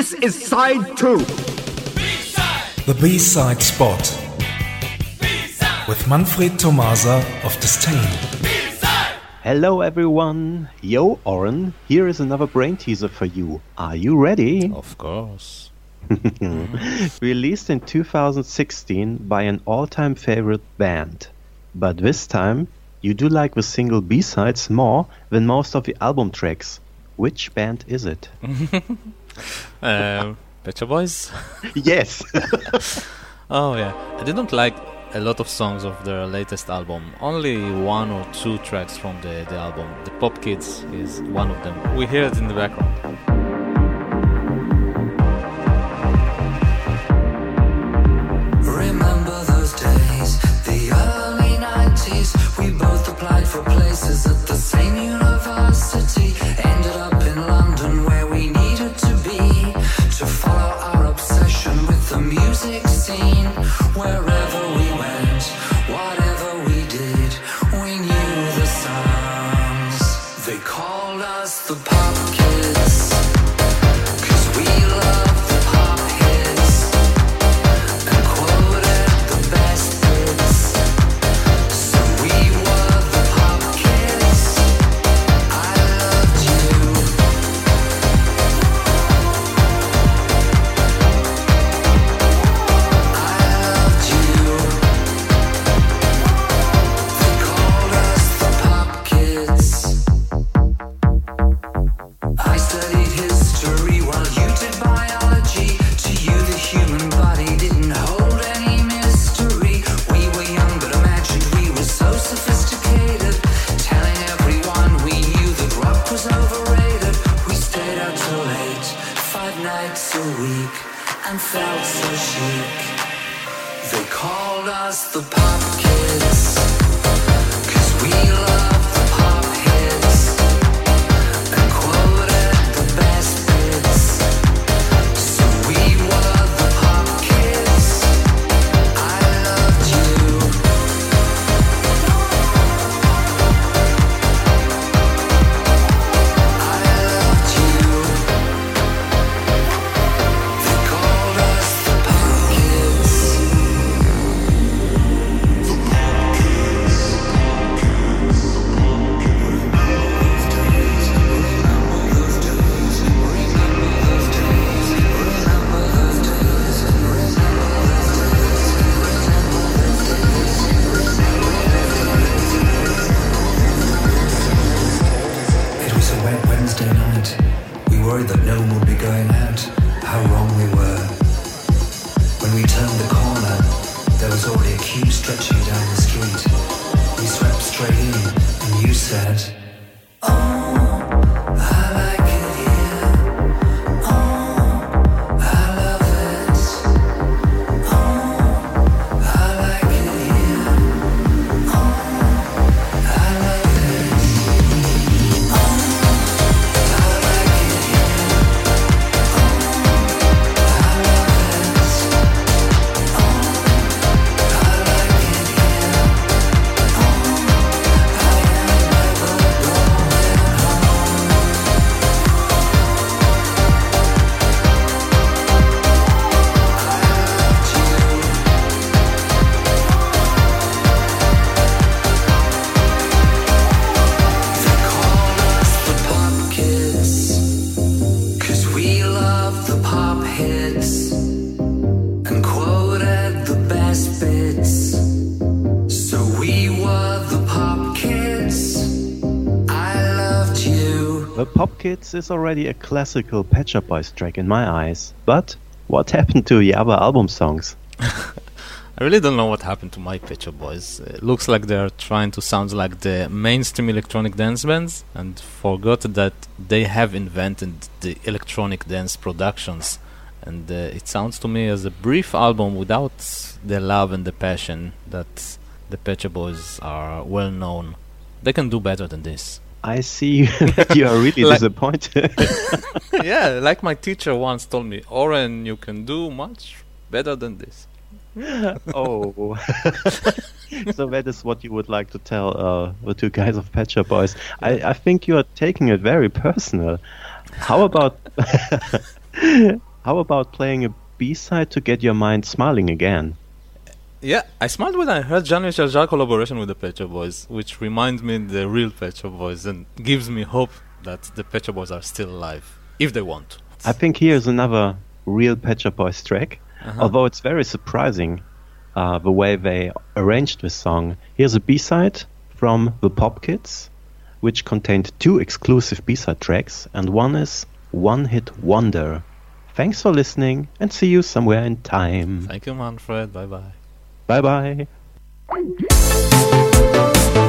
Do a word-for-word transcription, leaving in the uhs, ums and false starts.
This is side two. B-side. The B-side spot. B-side. With Manfred Tomasa of Disdain. B-side. Hello everyone. Yo, Oren. Here is another brain teaser for you. Are you ready? Of course. Released in two thousand sixteen by an all-time favorite band. But this time, you do like the single B-sides more than most of the album tracks. Which band is it? um, Pet Shop Boys? Yes. Oh yeah, I didn't like a lot of songs of their latest album. Only one or two tracks from the, the album. The Pop Kids is one of them. We hear it in the background. Remember those days, the early nineties. We both applied for places at the same university. Ended up in London where we needed to be to follow our obsession with the music scene. Wherever we went, whatever we did, we knew the songs. They called us the Pop Kids, 'cause we loved the pop hits and quoted the best bits. So we were the Pop Kids. I loved you. I loved you. They called us the Pop Kids. I studied history while you did biology. To you the human body didn't hold any mystery. We were young but imagined we were so sophisticated, telling everyone we knew that rock was overrated. We stayed out till late, five nights a week, and felt so chic. They called us the Pop Kids, 'cause we loved the pop hits and quoted the best bits. So we were the Pop Kids. I loved you. I loved you. They called us the Pop Kids. It was a wet Wednesday night. We worried that no one would be going out. How wrong we were. When we turned the corner, there was already a queue stretching down the street. We swept straight in, and you said, "Oh, I like it here. Oh, I love it. Oh, I like it here. Oh, I love it. Oh, I like it here. Oh, I love it. Oh, I like it here. Oh, I am never The Pop Kids is already a classical Pet Shop Boys track in my eyes. But what happened to the other album songs? I really don't know what happened to my Pet Shop Boys. It looks like they're trying to sound like the mainstream electronic dance bands and forgot that they have invented the electronic dance productions. And uh, it sounds to me as a brief album without the love and the passion that the Pet Shop Boys are well known. They can do better than this. I see that you are really Like- disappointed. Yeah, like my teacher once told me, Oren, you can do much better than this. Oh. So that is what you would like to tell uh, the two guys of Pet Shop Boys. I, I think you are taking it very personal. How about how how about playing a B-side to get your mind smiling again? Yeah, I smiled when I heard Jean-Michel Jarre collaboration with the Pet Shop Boys, which reminds me the real Pet Shop Boys and gives me hope that the Pet Shop Boys are still alive, if they want. I think here's another real Pet Shop Boys track, Uh-huh. although it's very surprising uh, the way they arranged this song. Here's a B-side from the Pop Kids, which contained two exclusive B-side tracks, and one is One Hit Wonder. Thanks for listening, and see you somewhere in time. Thank you, Manfred. Bye-bye. Bye-bye.